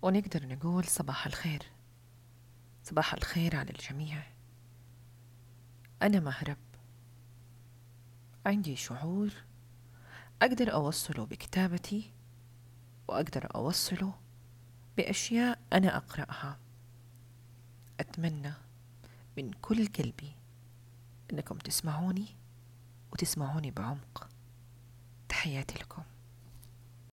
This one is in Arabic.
ونقدر نقول صباح الخير. صباح الخير على الجميع. أنا مهرب، عندي شعور أقدر أوصله بكتابتي، وأقدر أوصله بأشياء أنا أقرأها. أتمنى من كل قلبي أنكم تسمعوني وتسمعوني بعمق. تحياتي لكم.